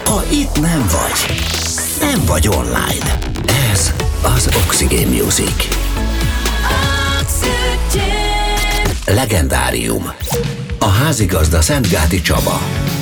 Ha itt nem vagy, nem vagy online. Ez az Oxygen Music. Legendárium. A házigazda Szentgáti Csaba.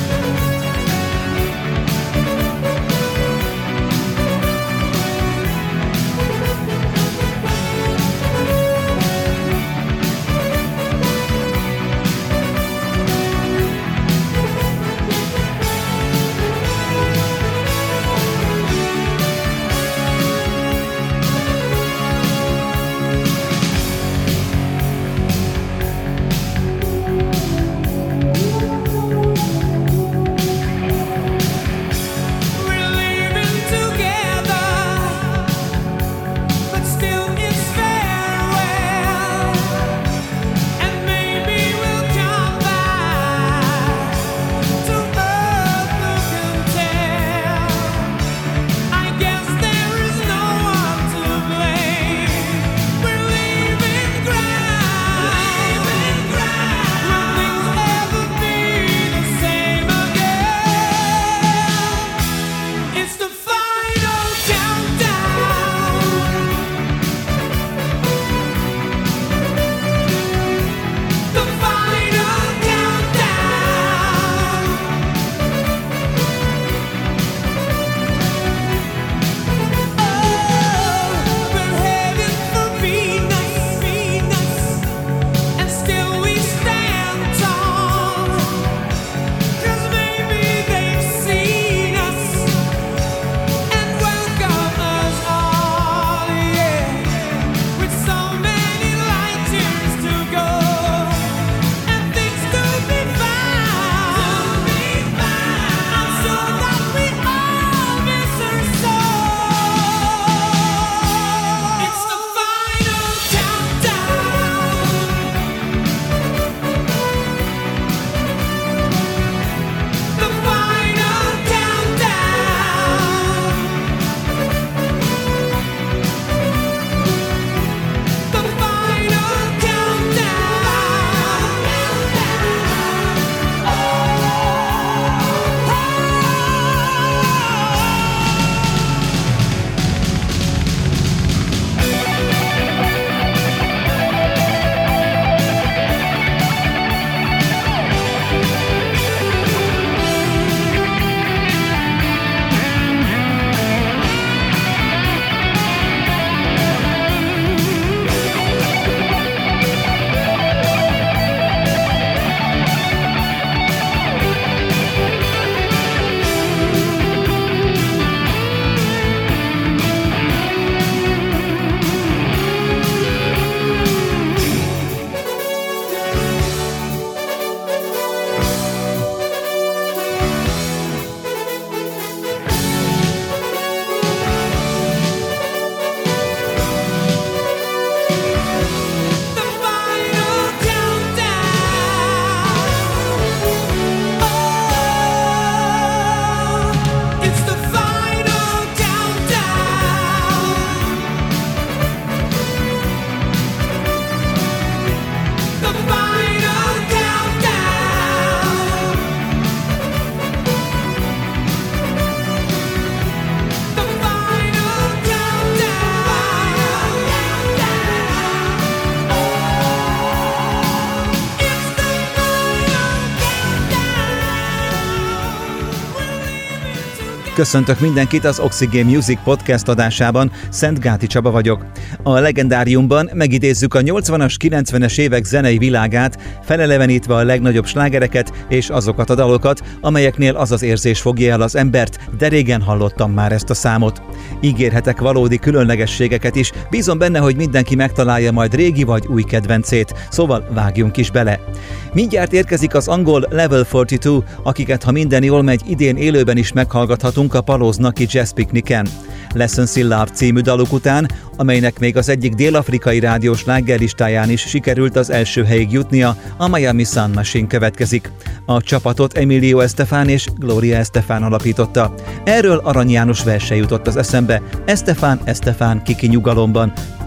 Köszöntök mindenkit az Oxygen Music podcast adásában, Szentgáti Csaba vagyok. A legendáriumban megidézzük a 80-as, 90-es évek zenei világát, felelevenítve a legnagyobb slágereket és azokat a dalokat, amelyeknél az az érzés fogja el az embert, de régen hallottam már ezt a számot. Ígérhetek valódi különlegességeket is, bízom benne, hogy mindenki megtalálja majd régi vagy új kedvencét, szóval vágjunk is bele. Mindjárt érkezik az angol Level 42, akiket, ha minden jól megy, idén élőben is meghallgathatunk a Paloznaki Jazz Picnicen. Lessons in Love című daluk után, amelynek még az egyik dél-afrikai rádiós slágerlistáján is sikerült az első helyig jutnia, a Miami Sound Machine következik. A csapatot Emilio Estefan és Gloria Estefan alapította. Erről Arany János verse jutott az eszembe: Estefan, Estefan, kiki nyugalomban.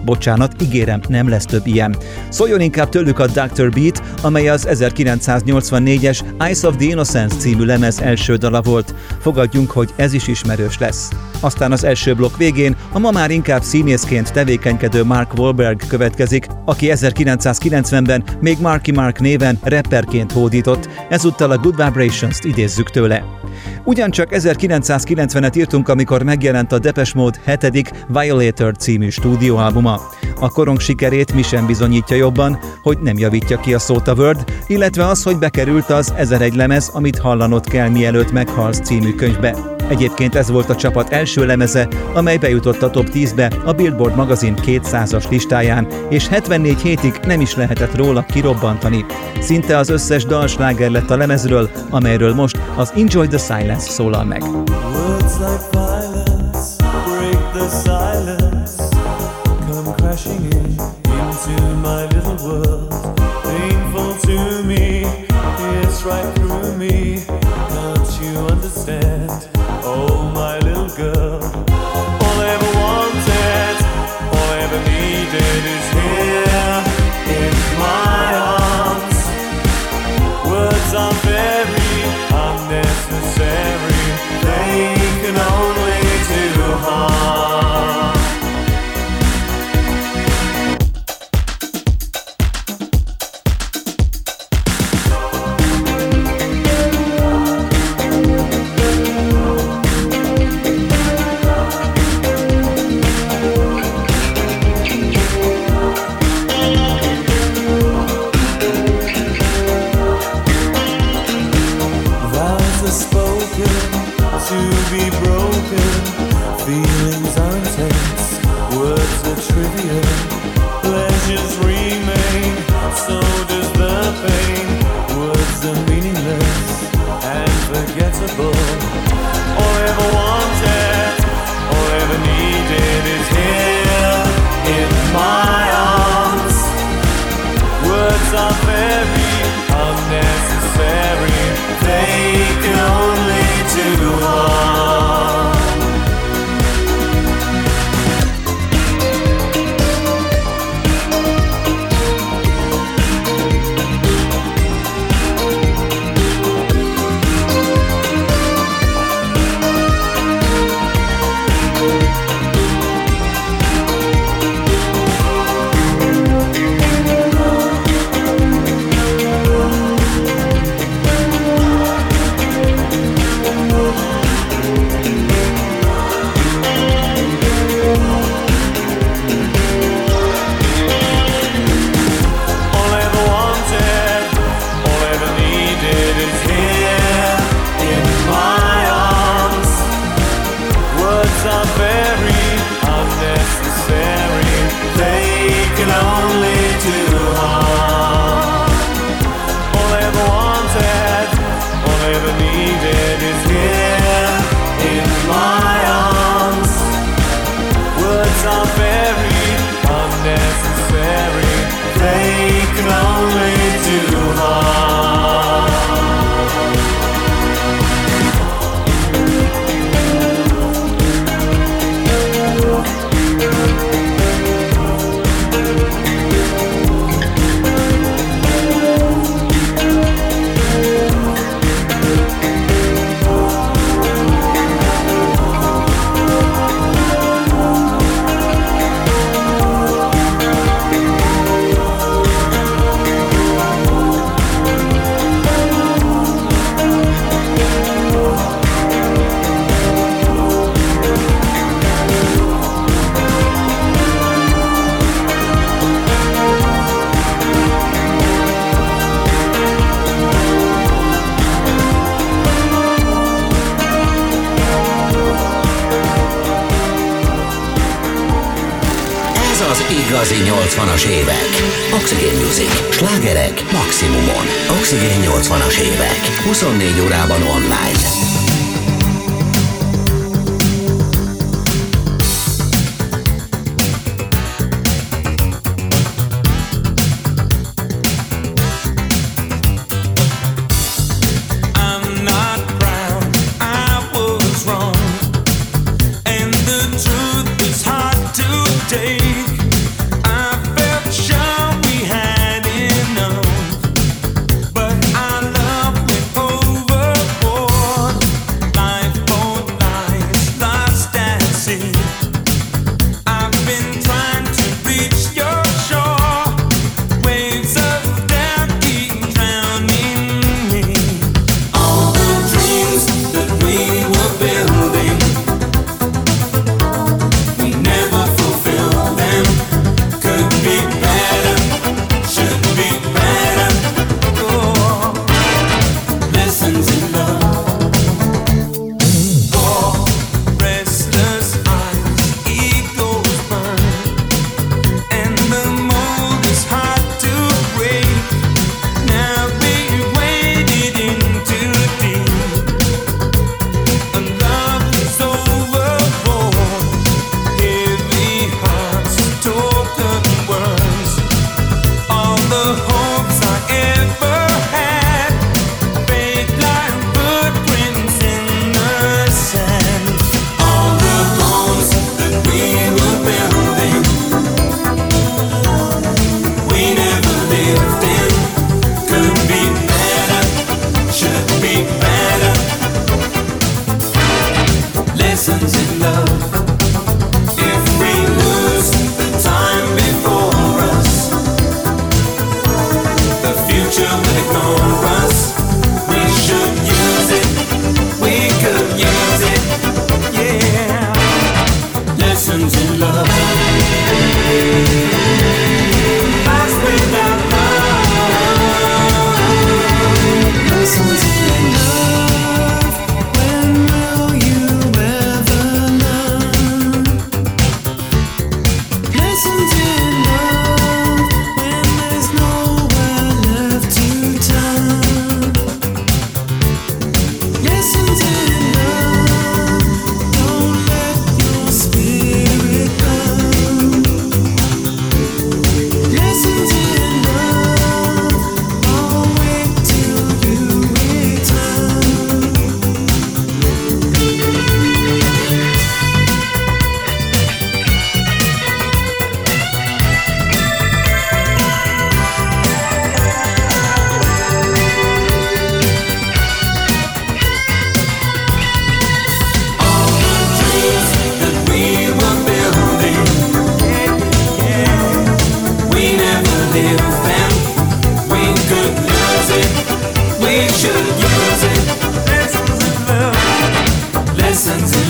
Bocsánat, ígérem, nem lesz több ilyen. Szóljon inkább tőlük a Dr. Beat, amely az 1984-es Eyes of the Innocence című lemez első dala volt. Fogadjunk, hogy ez is ismerős lesz. Aztán az első blokk végén a ma már inkább színészként tevékenykedő Mark Wahlberg következik, aki 1990-ben még Marky Mark néven rapperként hódított, ezúttal a Good Vibrations-t idézzük tőle. Ugyancsak 1990-et írtunk, amikor megjelent a Depeche Mode 7. Violator című stúdióalbuma. A korong sikerét mi sem bizonyítja jobban, hogy nem javítja ki a szót a Word, illetve az, hogy bekerült az 1001 lemez, amit hallanod kell mielőtt meghalsz című könyvbe. Egyébként ez volt a csapat első lemeze, amely bejutott a top 10-be a Billboard magazin 200-as listáján, és 74 hétig nem is lehetett róla kirobbantani. Szinte az összes dal sláger lett a lemezről, amelyről most az Enjoy the Silence szólal meg. Words like violence break the silence, come crashing into my little world, painful to me, it's right through me, don't you understand? Oh, my little girl, all I ever wanted, all I ever needed is here in my arms. Words are very unnecessary, they can only do harm. To be broken, feelings are intense, words are trivial, pleasures remain, so does the pain. Words are meaningless and forgettable. All I ever wanted, all I ever needed is here in my arms. Words are very unnecessary, they can only do harm. Igazi 80-as évek. Oxygen Music. Slágerek maximumon. Oxygen 80-as évek. 24 órában online.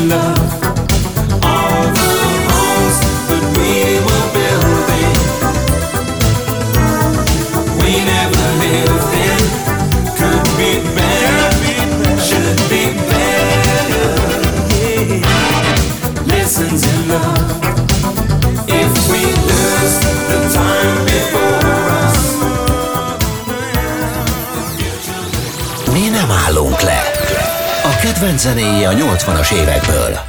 love. All the homes that we were building, we never lived in, could be better, should be better. Yeah. Lessons in love. If we lose the time before us. Mi nem állunk le. A kedvenc zenéje a 80-as évekből.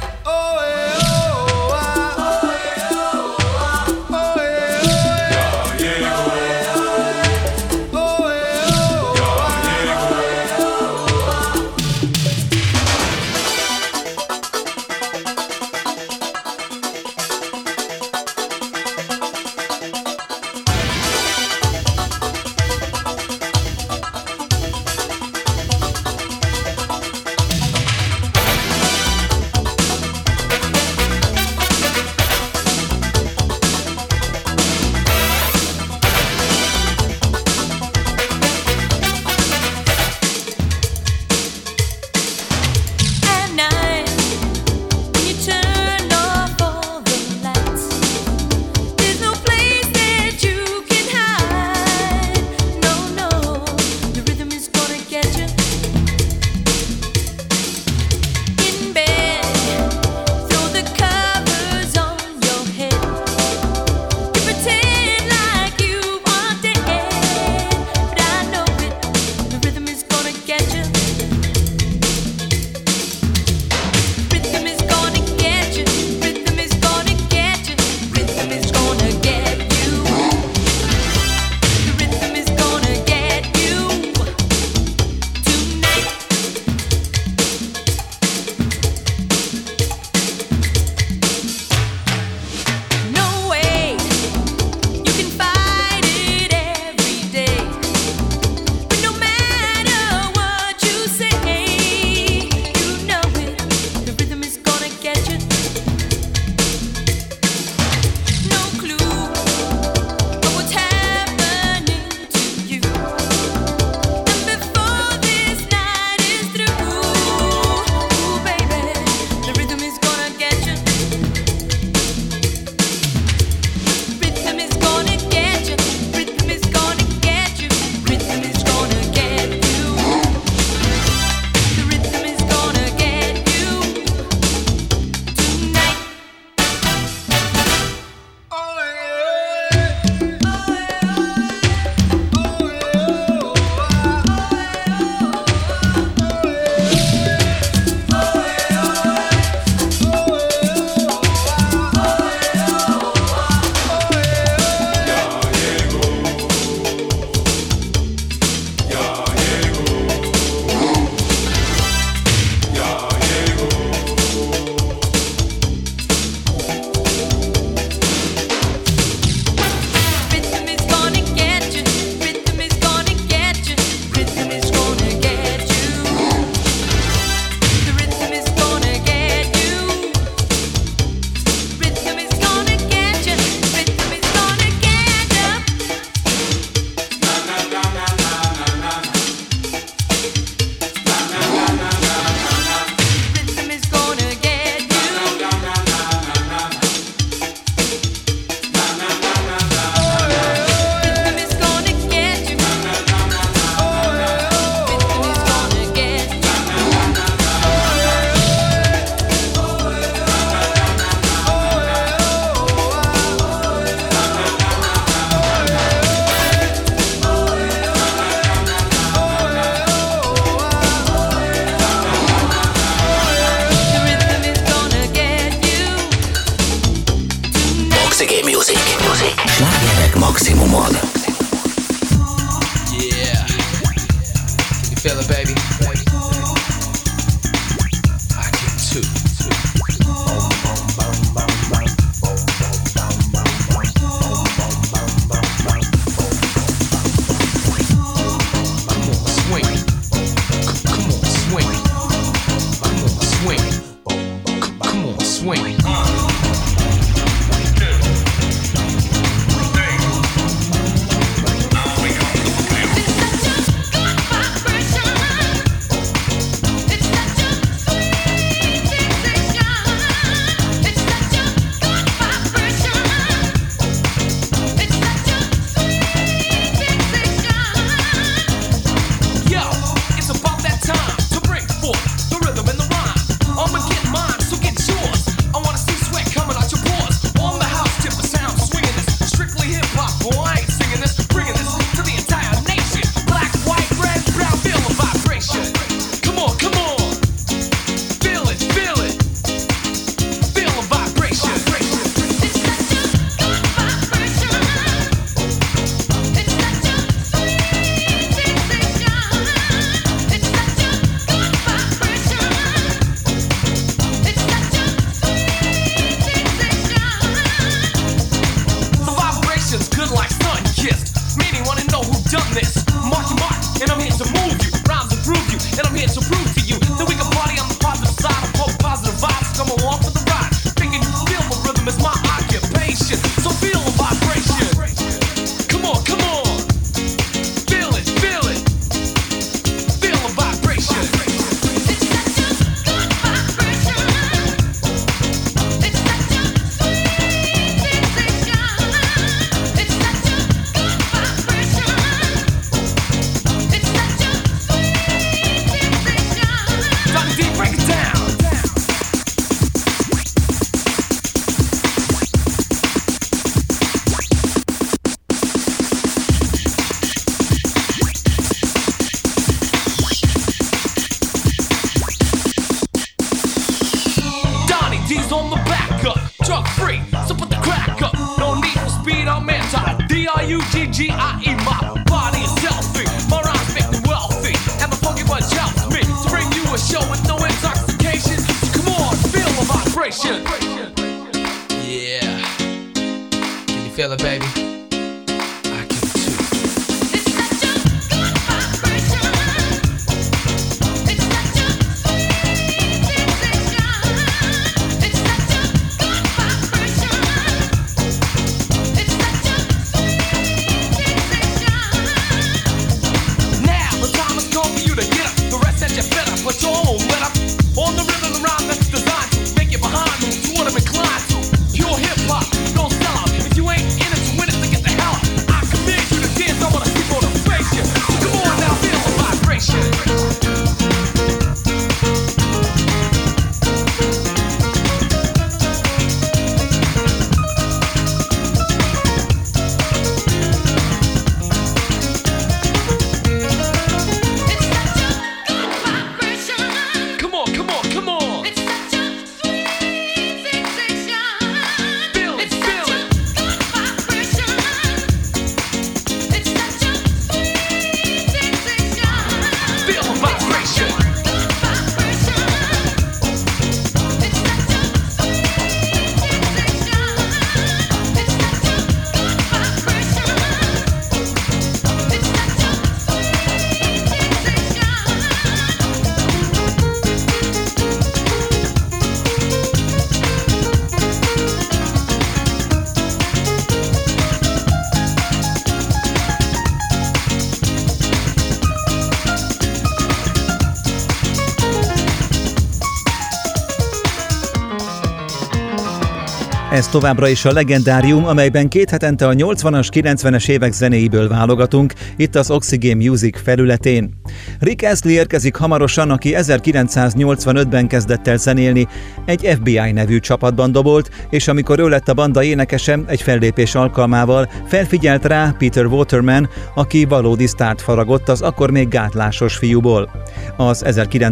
Slágerek maximumon. Yeah. Can you feel it, baby? I can too. It's such a sweet sensation. D's on the back up, drug free, so put the crack up. No need for speed, I'm anti. D-R-U-G-G-I-E, my body is healthy. My rhymes make me wealthy, and the funky bunch helps me to bring you a show with no intoxication. Come on, feel the vibration. Yeah. Can you feel it, baby? I can too. It's such a good vibration. It's such a sweet sensation. It's such a good vibration. It's such a sweet sensation. Now the time has come for you to get up. The rest that you better put your own let up. On the rhythm and rhyme that's designed to make you behind me to what I'm inclined to. Pure hip hop, don't sell out. If you ain't in it to win it, then get the hell out. I command you to dance, I wanna see motivation. So come on now, feel the vibration. It's such a good vibration. Come on, come on, come on. It's such a sweet sensation. Feel it, It's feel such a it. good vibration. It's such a sweet sensation. Feel the vibration. Good vibration. It's such a sweet sensation. It's such a good vibration. It's such a Ez továbbra is a legendárium, amelyben 2 hetente a 80-as, 90-es évek zenéiből válogatunk, itt az Oxygen Music felületén. Rick Astley érkezik hamarosan, aki 1985-ben kezdett el zenélni, egy FBI nevű csapatban dobolt, és amikor ő lett a banda énekese, egy fellépés alkalmával felfigyelt rá Peter Waterman, aki valódi sztárt faragott az akkor még gátlásos fiúból. Az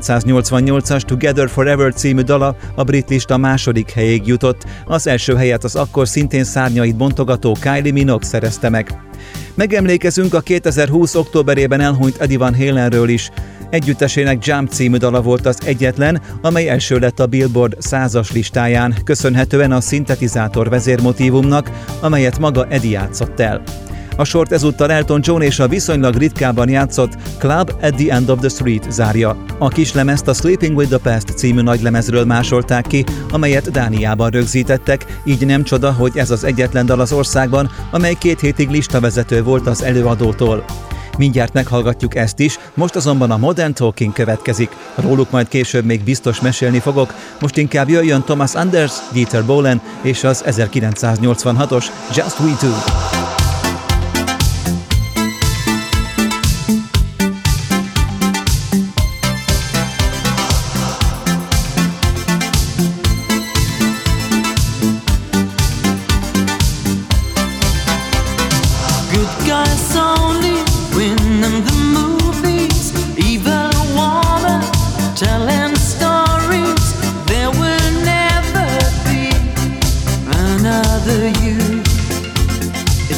1988-as Together Forever című dala a brit lista második helyéig jutott, az első helyet az akkor szintén szárnyait bontogató Kylie Minogue szerezte meg. Megemlékezünk a 2020. októberében elhunyt Eddie Van Halenről is. Együttesének Jump című dala volt az egyetlen, amely első lett a Billboard 100-as listáján, köszönhetően a szintetizátor vezérmotívumnak, amelyet maga Eddie játszott el. A sort ezúttal Elton John és a viszonylag ritkábban játszott Club at the End of the Street zárja. A kislemezt a Sleeping with the Past című nagylemezről másolták ki, amelyet Dániában rögzítettek, így nem csoda, hogy ez az egyetlen dal az országban, amely 2 hétig listavezető volt az előadótól. Mindjárt meghallgatjuk ezt is, most azonban a Modern Talking következik. Róluk majd később még biztos mesélni fogok, most inkább jöjjön Thomas Anders, Dieter Bohlen és az 1986-os Just We Two. It's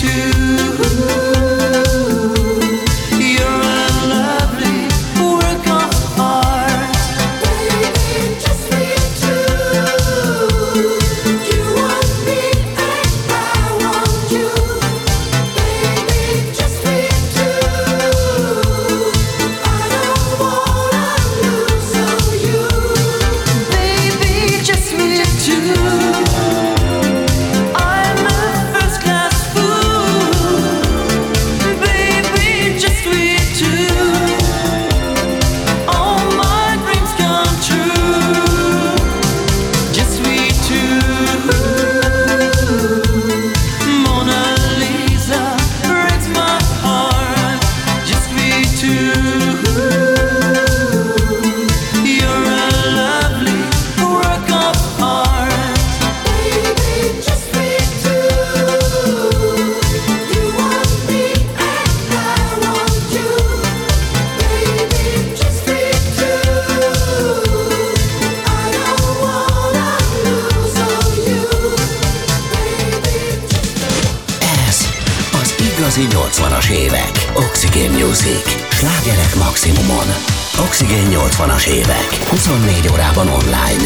Igazi 80-as évek. Oxygen Music. Slágerek maximumon. Oxygen 80-as évek. 24 órában online.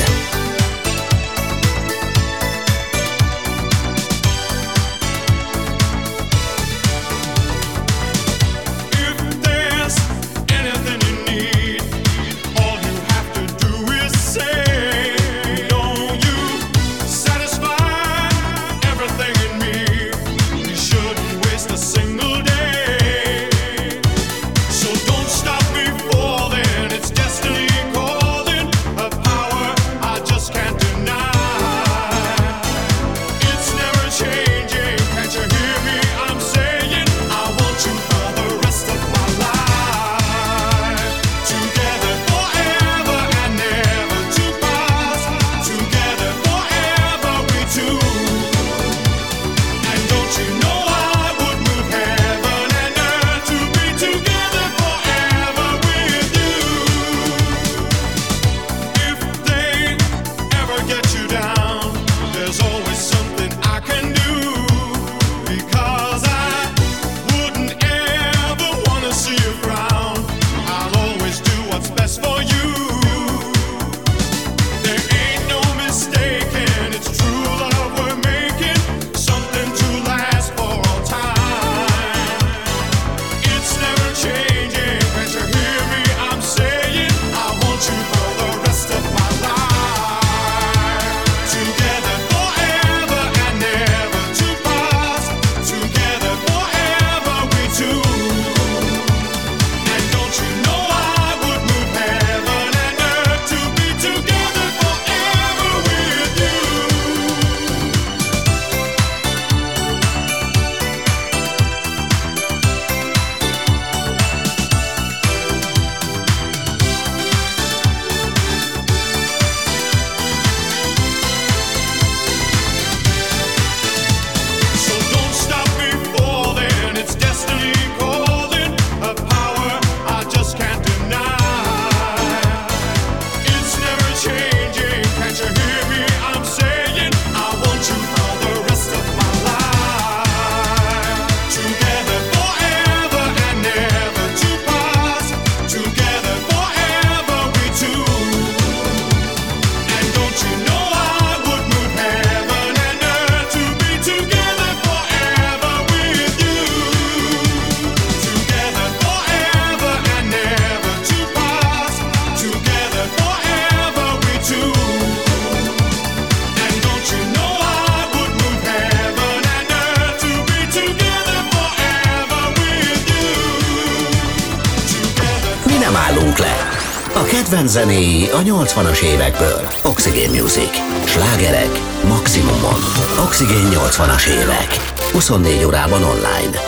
Kedvenc zenéi a 80-as évekből. Oxygen Music. Slágerek maximumon. Oxygen 80-as évek. 24 órában online.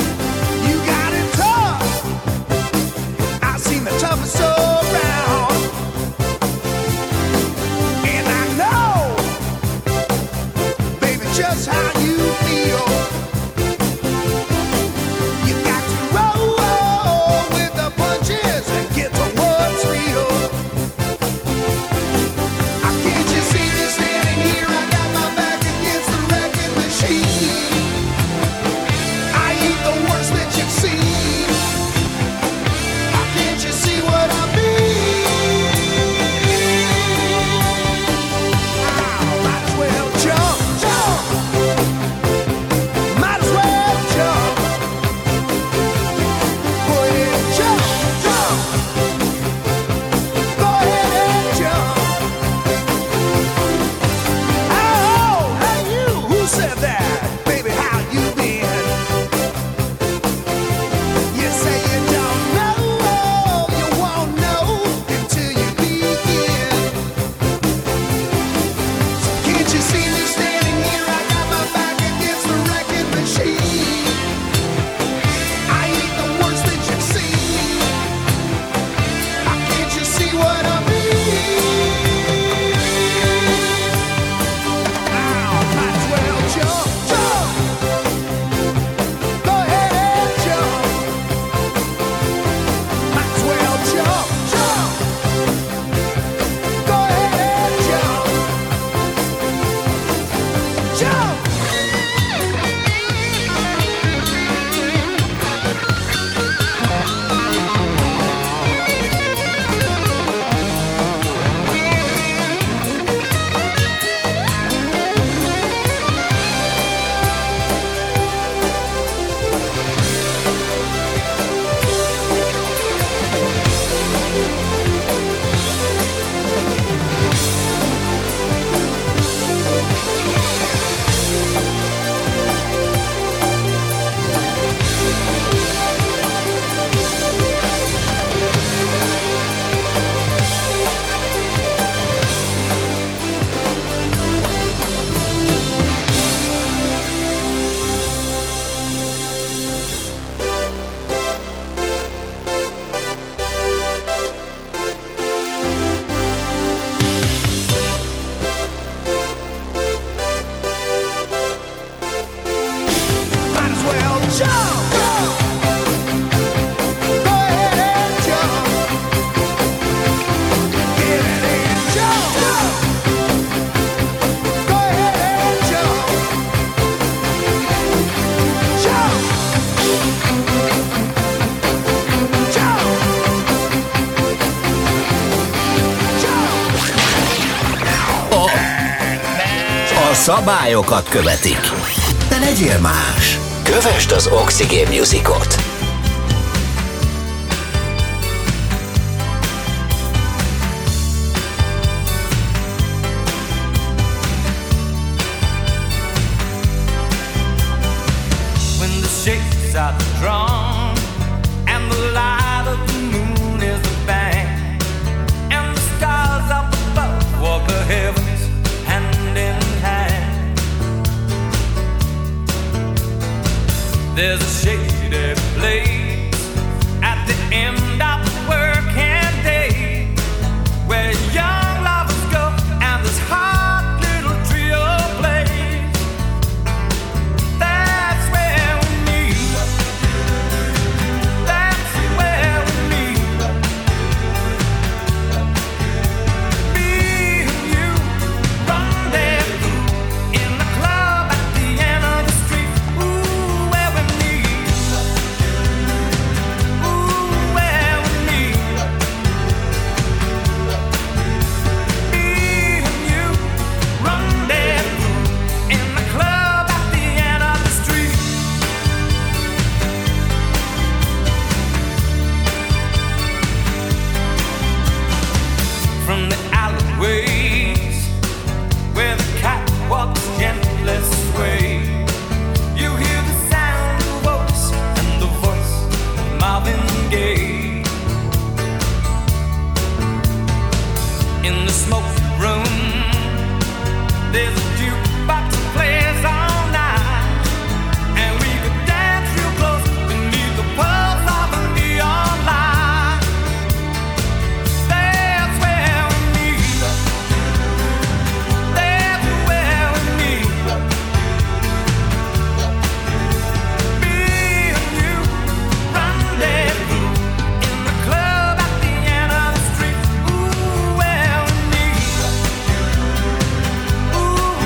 Toughest around. szabályokat követik. De legyél más. Kövesd az Oxygen Musicot. When the shakes are the drum and the light of the moon is the band and the stars up above walk the heavens hand in hand. There's a shady place at the end of the working day where young lovers go and this hot little trio plays. That's where we meet. That's where we meet. Me and you rendezvous in the club at the end of the street. Ooh, where we meet. Ooh, where we meet. Me and you rendezvous in the club at the end of the street. From the alleyways where the catwalks gently sway, you hear the sound of voice and the voice of Marvin Gaye. In the smoky room, there's a jukebox that plays all night, and we could dance real close beneath the pulse of a neon light. That's where we meet. That's where we meet. Me and you rendezvous in the club at the end of the street. Ooh, where we meet. Ooh,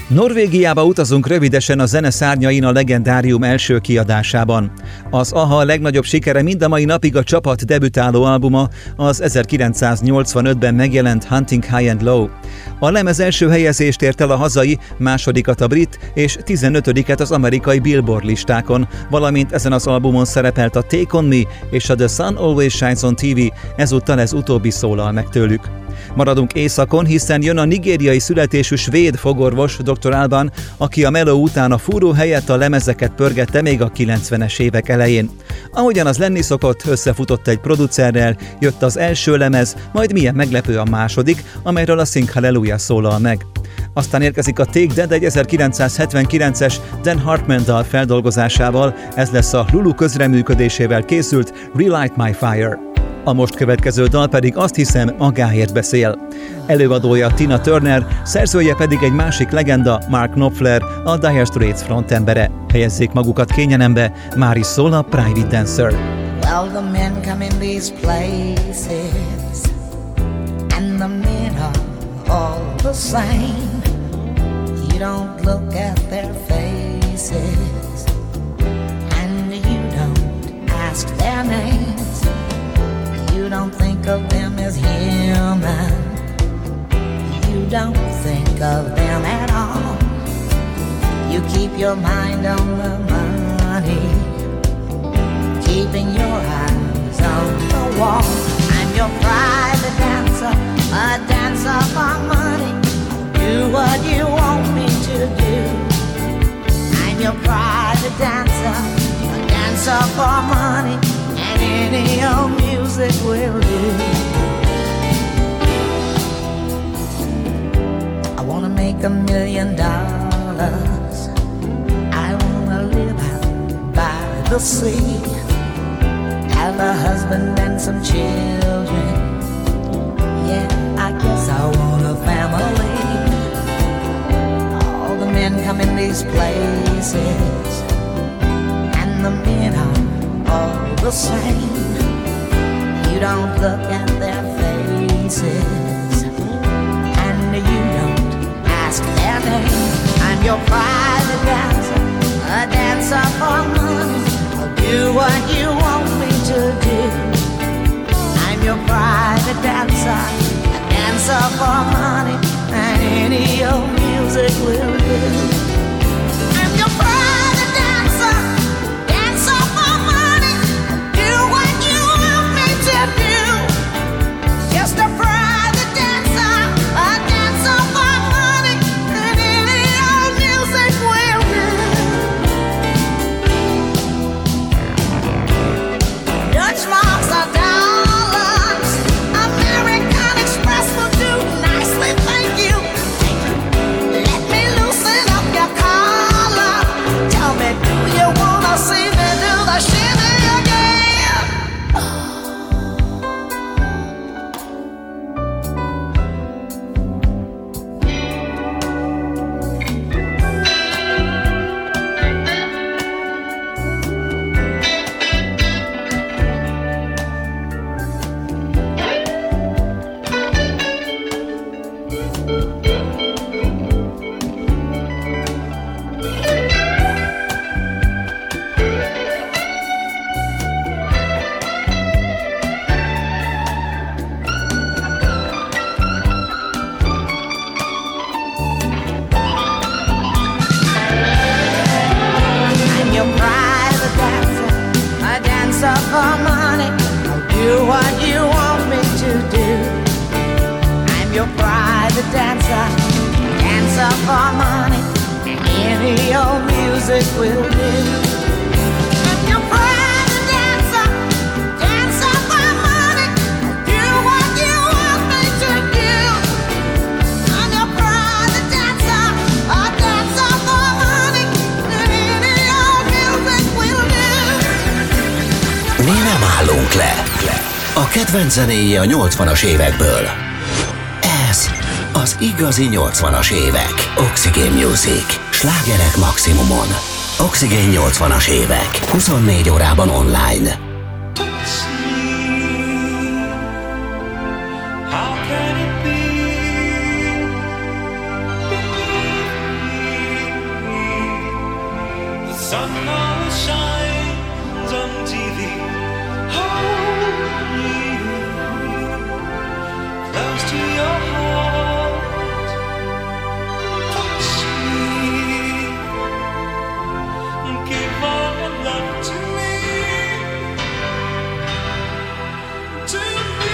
Norvégiába utazunk rövidesen a zene szárnyain a Legendárium első kiadásában. Az AHA legnagyobb sikere mind a mai napig a csapat debütáló albuma, az 1985-ben megjelent Hunting High and Low. A lemez első helyezést ért el a hazai, másodikat a brit és 15-et az amerikai Billboard listákon, valamint ezen az albumon szerepelt a Take On Me és a The Sun Always Shines On TV, ezúttal ez utóbbi szólal meg tőlük. Maradunk északon, hiszen jön a nigériai születésű svéd fogorvos Dr. Alban, aki a meló után a fúró helyett a lemezeket pörgette még a 90-es évek elején. Ahogyan az lenni szokott, összefutott egy producerrel, jött az első lemez, majd milyen meglepő a második, amelyről a Sing Hallelujah szólal meg. Aztán érkezik a Take That egy 1979-es Dan Hartman dal feldolgozásával, ez lesz a Lulu közreműködésével készült Relight My Fire. A most következő dal pedig azt hiszem magáért beszél. Előadója Tina Turner, szerzője pedig egy másik legenda, Mark Knopfler, a Dire Straits frontembere. Helyezzék magukat kényelembe, már is szól a Private Dancer. Well, the men come in these places, and the men are all the same. You don't look at their faces, and you don't ask their names. You don't think of them as human. You don't think of them at all. You keep your mind on the money, keeping your eyes on the wall. I'm your private dancer, a dancer for money. Do what you want me to do. I'm your private dancer, a dancer for money. And any old music will do. I wanna make $1 million. I wanna live out by the sea, have a husband and some children. Yeah, I guess I want a family. All the men come in these places, and the men are all the same. You don't look at their faces, and you don't ask their name. I'm your private dancer, a dancer for money. I'll do what you want me to do. I'm your private dancer, a dancer for money, and any old music will do. I'm your private dancer, dancer for money. Do what you want me to do. Just a private dancer, a dancer for money, and any old music will do. Dutch marks are dollars, American Express will do nicely, thank you. Let me loosen up your collar. Tell me, do you wanna see me do the shimmy again? I'm your private dancer, a dancer for money. I'll do what you want me to do. I'm your private dancer, dancer for money. Any old music will do. I'm your private dancer, dancer for money. I'll do what you want me to do. I'm your private dancer, a dancer for money. Any old music will do. Mi nem állunk le. A kedvenc zenéje a 80-as évekből. Ez az igazi 80-as évek. Oxygen Music. Slágerek maximumon. Oxygen 80-as évek. 24 órában online. How can it be? Believe me, shines on TV. Hold me close to your heart. Touch me. Give all your love to me. To me.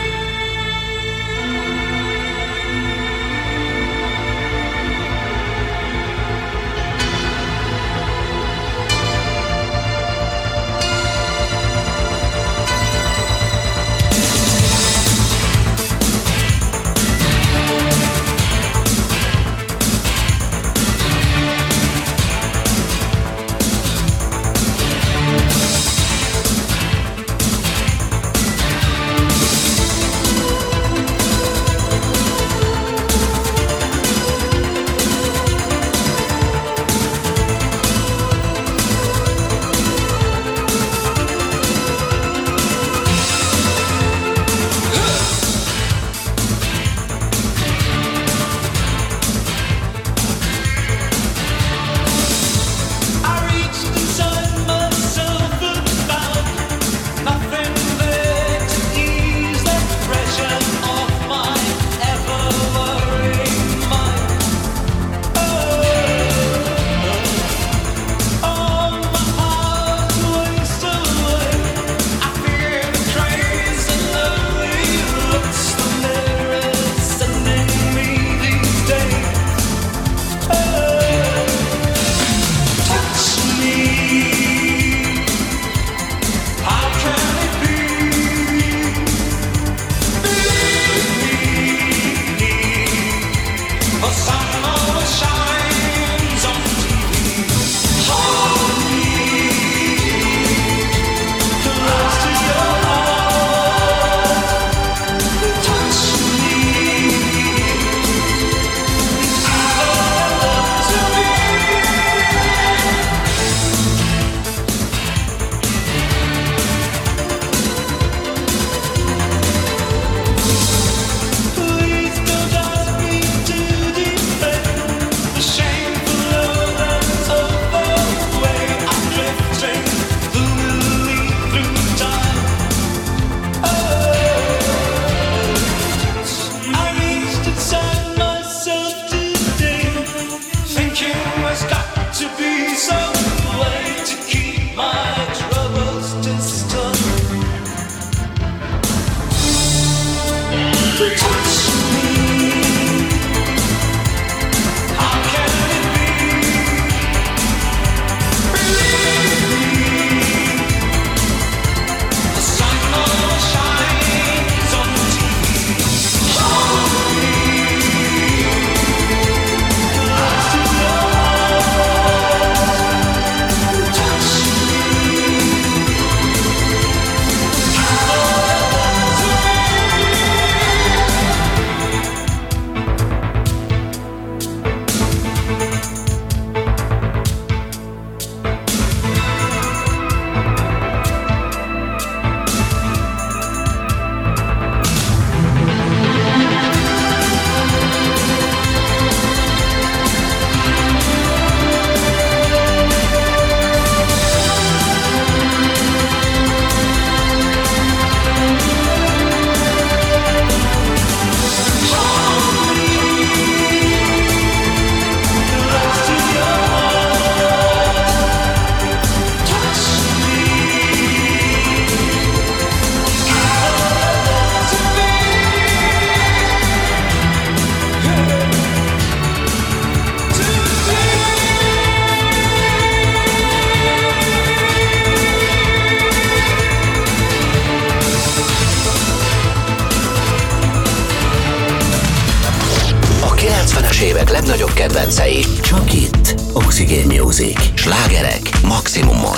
évek legnagyobb kedvencei csak itt. Oxygen Music. Slágerek maximumon.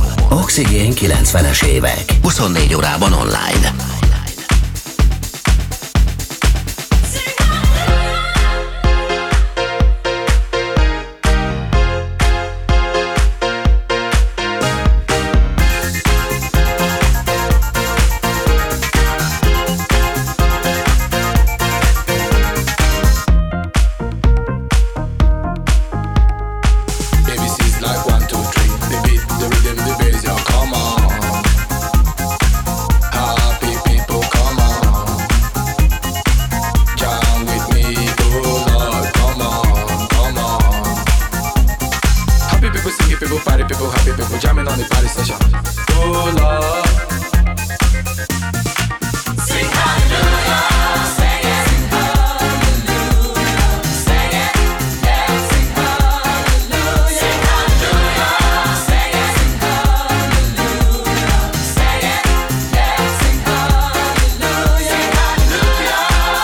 Oxygen 90-es évek. 24 órában online. Like 1, 2, 3, they beat the happy people jamming on the party session. Oh Lord. Sing hallelujah, sing it. Sing hallelujah, sing it. Yeah, sing hallelujah. Sing hallelujah, sing it. Sing hallelujah, sing it. Yeah, sing hallelujah. Sing hallelujah.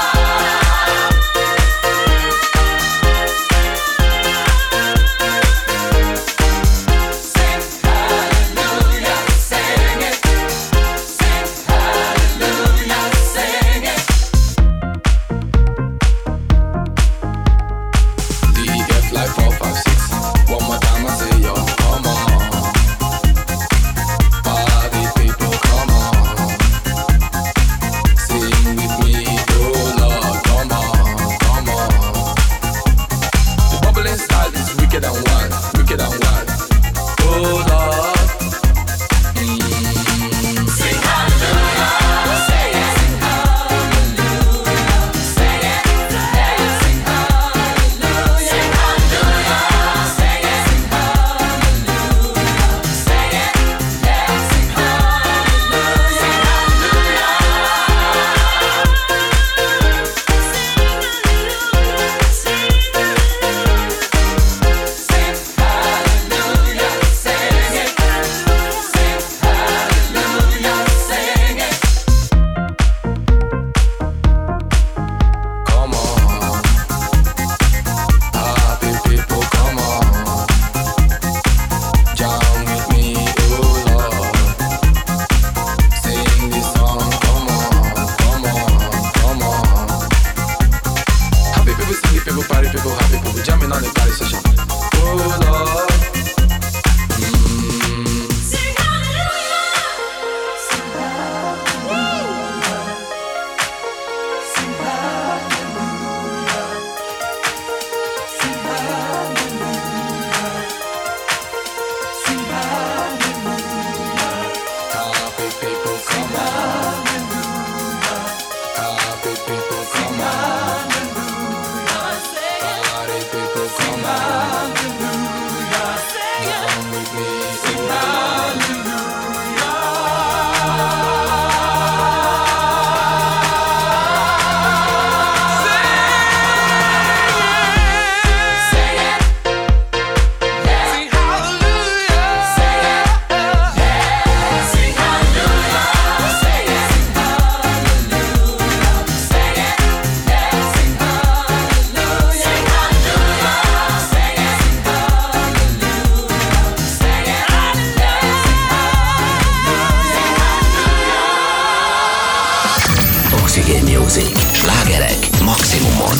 Slágerek maximumon.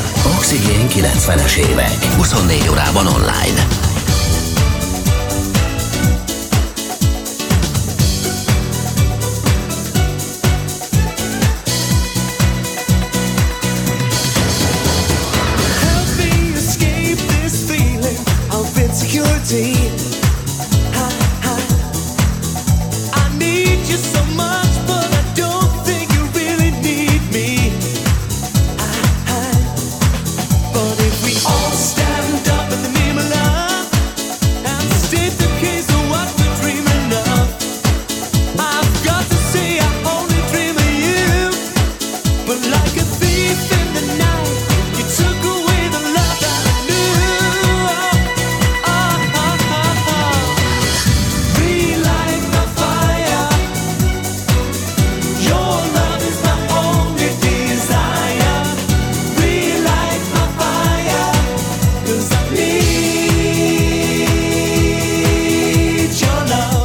Oxigén 90-es évek. 24 órában online. Help me escape this feeling of insecurity. I need you so much, but I don't think you really need me. But if we all stand up in the name of love and state the case of what we're dreaming of, I've got to say I only dream of you. But like a thief in the night, you took away the love that I knew. Relight my fire. Your love is my only desire. Relight my fire, 'cause I need your love.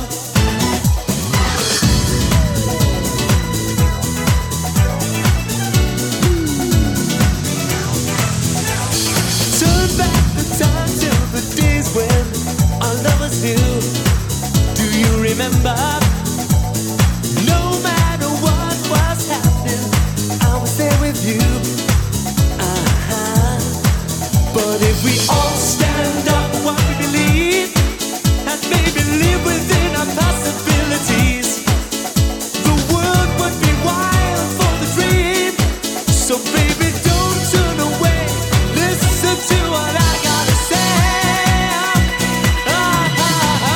Turn back the time till the days when our love was new. Do you remember? No matter what was happening, I was there with you. But if we all stand up for what we believe and maybe live within our possibilities, the world would be wild for the dream. So baby, don't turn away. Listen to what I gotta say.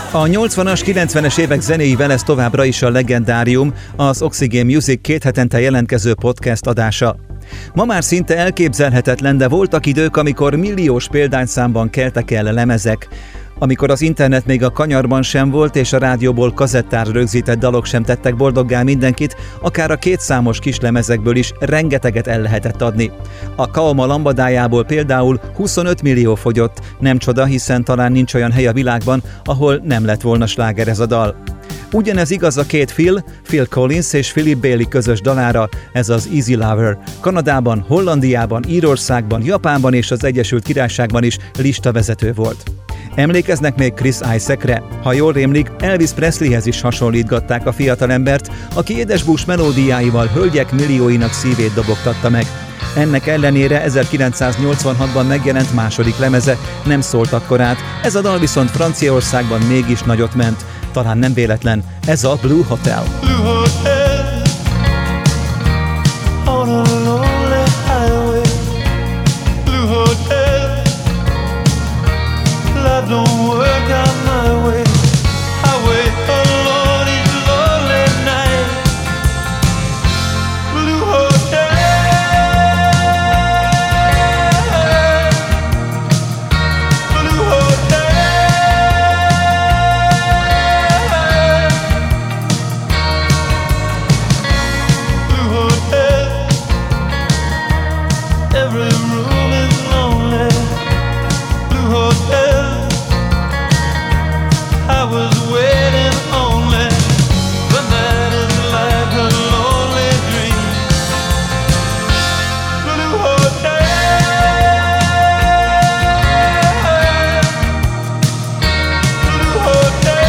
A 80-as, 90-es évek zenéivel ez továbbra is a legendárium, az Oxygen Music 2 hetente jelentkező podcast adása. Ma már szinte elképzelhetetlen, de voltak idők, amikor milliós példányszámban keltek el lemezek, amikor az internet még a kanyarban sem volt, és a rádióból kazettára rögzített dalok sem tettek boldoggá mindenkit, akár a kétszámos kislemezekből is rengeteget el lehetett adni. A Kaoma lambadájából például 25 millió fogyott, nem csoda, hiszen talán nincs olyan hely a világban, ahol nem lett volna sláger ez a dal. Ugyanez igaz a két Phil Collins és Philip Bailey közös dalára, ez az Easy Lover. Kanadában, Hollandiában, Írországban, Japánban és az Egyesült Királyságban is listavezető volt. Emlékeznek még Chris Isaacre? Ha jól rémlik, Elvis Presleyhez is hasonlítgatták a fiatalembert, aki édesbús melódiáival hölgyek millióinak szívét dobogtatta meg. Ennek ellenére 1986-ban megjelent második lemeze nem szólt akkorát, ez a dal viszont Franciaországban mégis nagyot ment. Talán nem véletlen, ez a Blue Hotel. Blue Hotel on a lonely highway. Blue Hotel, life don't work out my way. I wait alone each lonely night. Blue Hotel, Blue Hotel. Every room is lonely. Blue Hotel, I was waiting only. The night is like a lonely dream. Blue Hotel, Blue Hotel.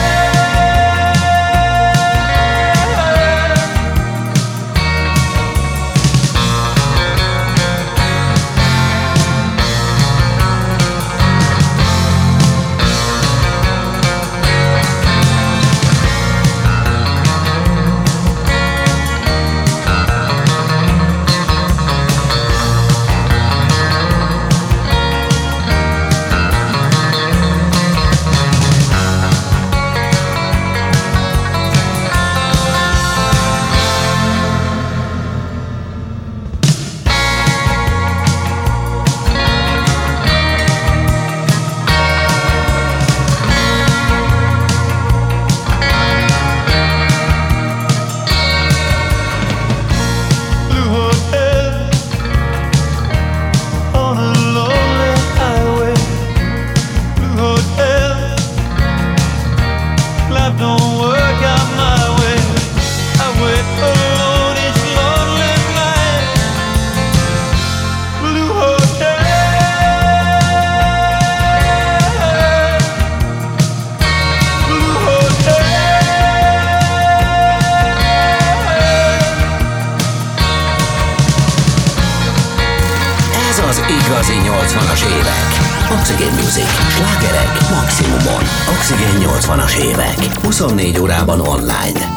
Igazi 80-as évek. Oxygen Music. Slágerek maximumon. Oxygen 80-as évek. 24 órában online.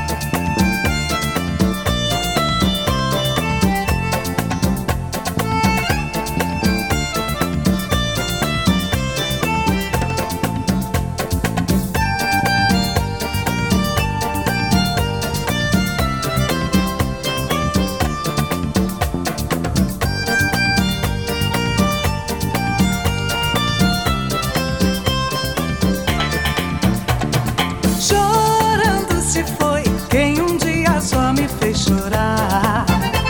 Chorando se foi quem dia só me fez chorar.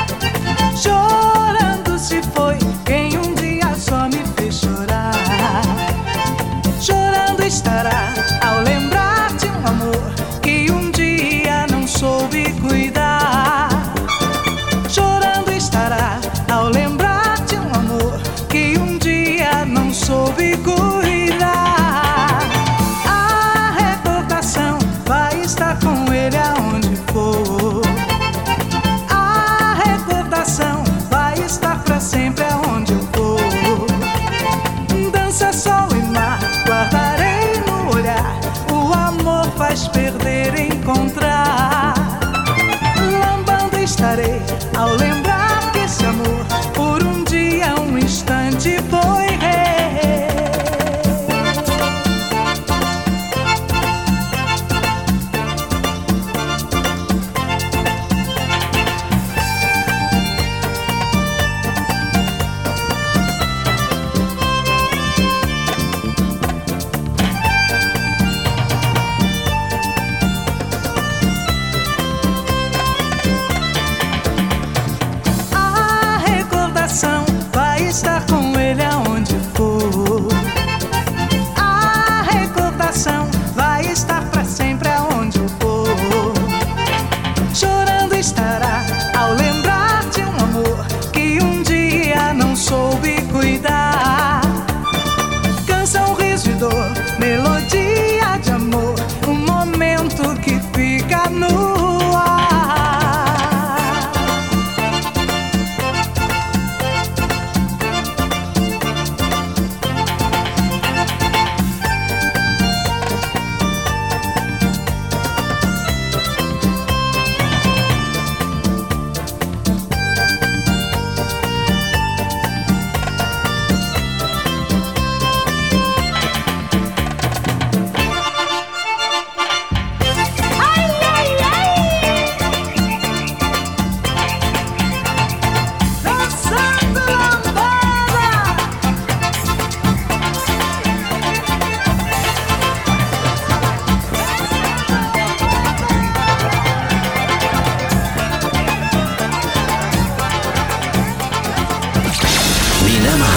Chorando se foi quem dia só me fez chorar. Chorando estará ao lembrar de amor que dia não soube cuidar. Chorando estará ao lembrar de amor que dia não soube cuidar. A recordação vai estar com ele aonde for. A recordação vai estar pra sempre aonde eu for. Dança, sol e mar, guardarei no olhar. O amor faz perder e encontrar. Lambando estarei ao lembrar que esse amor por dia, instante foi rei.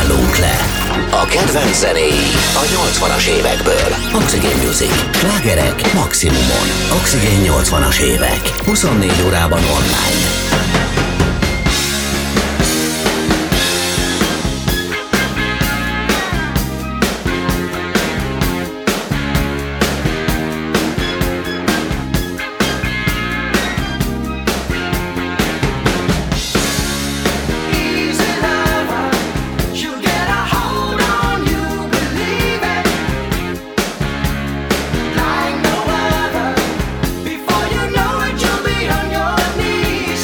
szállunk le. A kedvenc zenéi a 80-as évekből. Oxygen Music. Slágerek maximumon. Oxygen 80-as évek. 24 órában online. Before you know it, you'll be on your knees.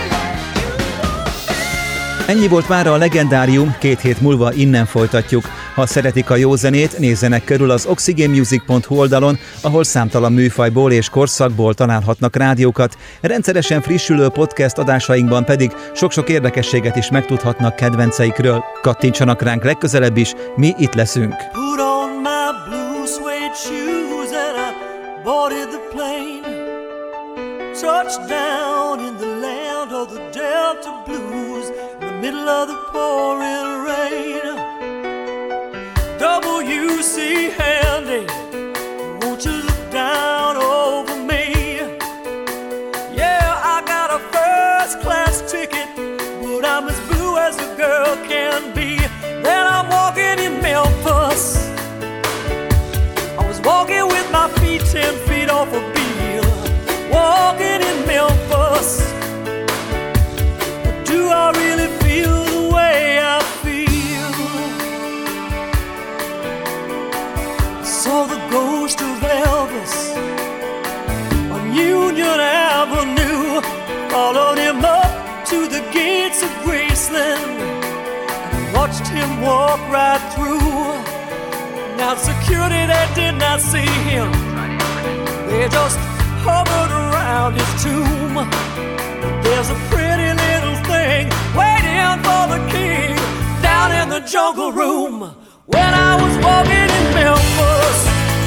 Ennyi volt mára a legendárium, 2 hét múlva innen folytatjuk. Ha szeretik a jó zenét, nézzenek körül az oxygenmusic.hu oldalon, ahol számtalan műfajból és korszakból találhatnak rádiókat, rendszeresen frissülő podcast adásainkban pedig sok-sok érdekességet is megtudhatnak kedvenceikről. Kattintsanak ránk legközelebb is, mi itt leszünk. Put on my blue suede shoes and I boarded the plane. Touched down in the land of the Delta Blues in the middle of the pouring rain. W.C. Handy, won't you look down over me? Yeah, I got a first class ticket, but I'm as blue as a girl can be. Then I'm walking in Memphis. I was walking with my feet 10 feet off a Beale. Walking in Memphis. But do I really feel the way I feel? I saw the ghost of Elvis on Union Avenue. Followed him up to the gates of Graceland. Watched him walk right through. Now security, they did not see him. They just hovered around his tomb. There's a pretty little thing waiting for the king down in the jungle room. When I was walking in Memphis,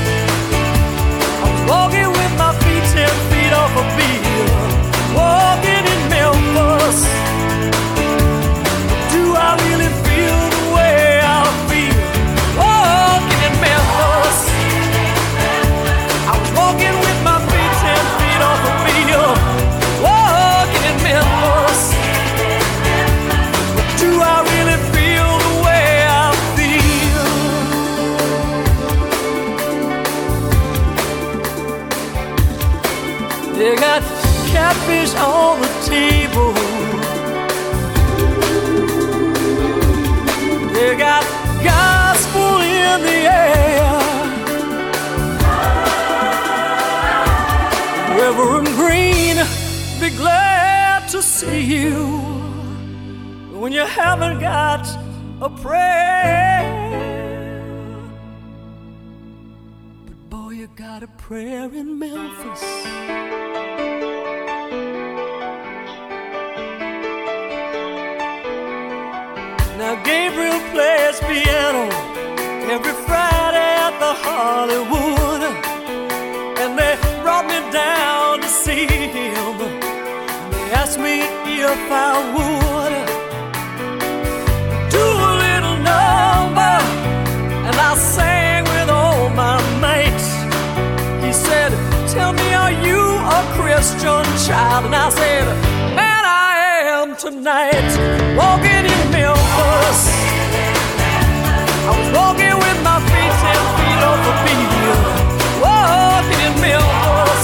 I was walking with my feet 10 feet off a Beale. Walking in Memphis. Do I really feel the way I feel? Walking in Memphis. I was walking with my feet 10 feet off a Beale. Walking in Memphis. Do I really feel the way I feel? They got catfish on the table. They got gospel in the air. Reverend Green, be glad to see you when you haven't got a prayer. But boy, you got a prayer in Memphis. Now Gabriel plays piano every Friday at the Hollywood, and they brought me down to see him. They asked me if I would do a little number, and I sang with all my mates. He said, "Tell me, are you a Christian child?" And I said, "Man, I am tonight." Walking in Memphis, I was walking with my feet 10 feet off a Beale. Walking in Memphis.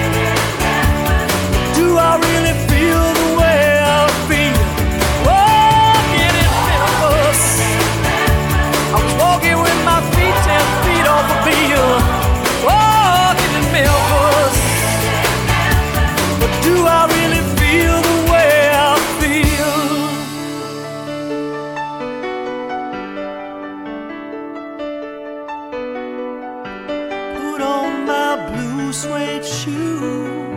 Do I really feel the way I feel? Walking in Memphis, I was walking with my feet 10 feet off a Beale. Walking in Memphis. But do I really feel the way I feel? Put on my blue suede shoes